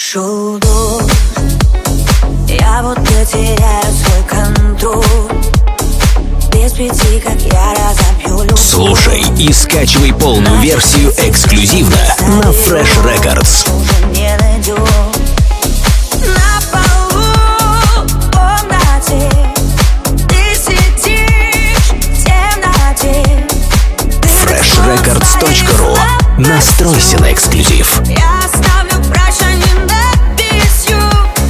Шел дождь, я будто теряю свой контроль. Без пяти, как я разобью любовь. Слушай и скачивай полную версию эксклюзивно на Fresh Records. Уже не найдешь. На полу в комнате ты сидишь в темноте. freshrecords.ru. Настройся на эксклюзив. Я оставлю прощание на песню.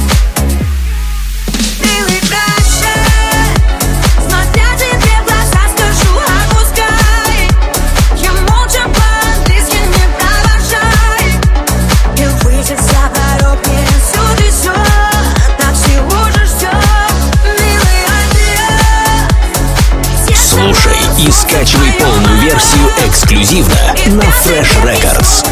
Милый, прощай, смотря тебе в глаза, скажу, отпускай. Я молча по-английски не провожай. И выйдет за порог, мне отсюда все. Так чего же ждем, милый, адьё. Слушай и скачивай полную версию эксклюзивно на Fresh Records.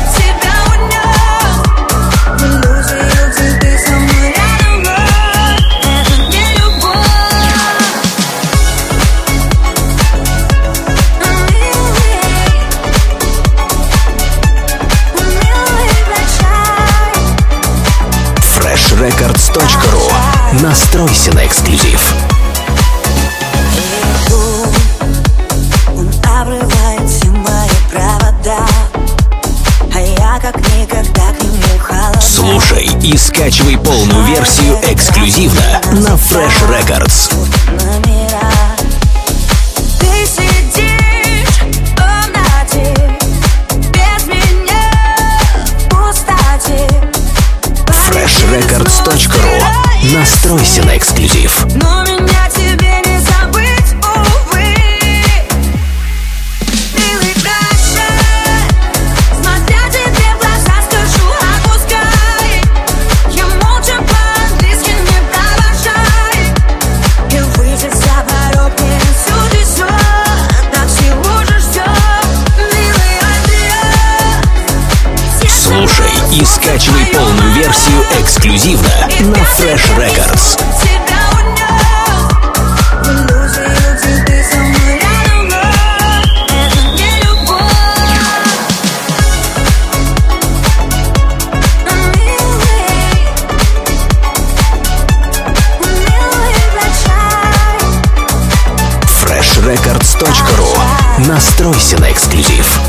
freshrecords.ru. Настройся на эксклюзив. Он обрывает все мои провода, а я как никогда к нему холодна. Слушай и скачивай полную версию эксклюзивно на Fresh Records. Номера. Ты сидишь в комнате без меня в пустоте. freshrecords.ru. Настройся на эксклюзив. Но меня тебе не забыть, увы. Милый, прощай, смотря тебе в глаза, скажу, отпускай. Я молча по-английски не провожай. И выйдет за порог, мне отсюда все. Так чего же ждем, милый, адьё. Слушай и скачивай полную версию эксклюзивно на Fresh Records. freshrecords.ru. Настройся на эксклюзив.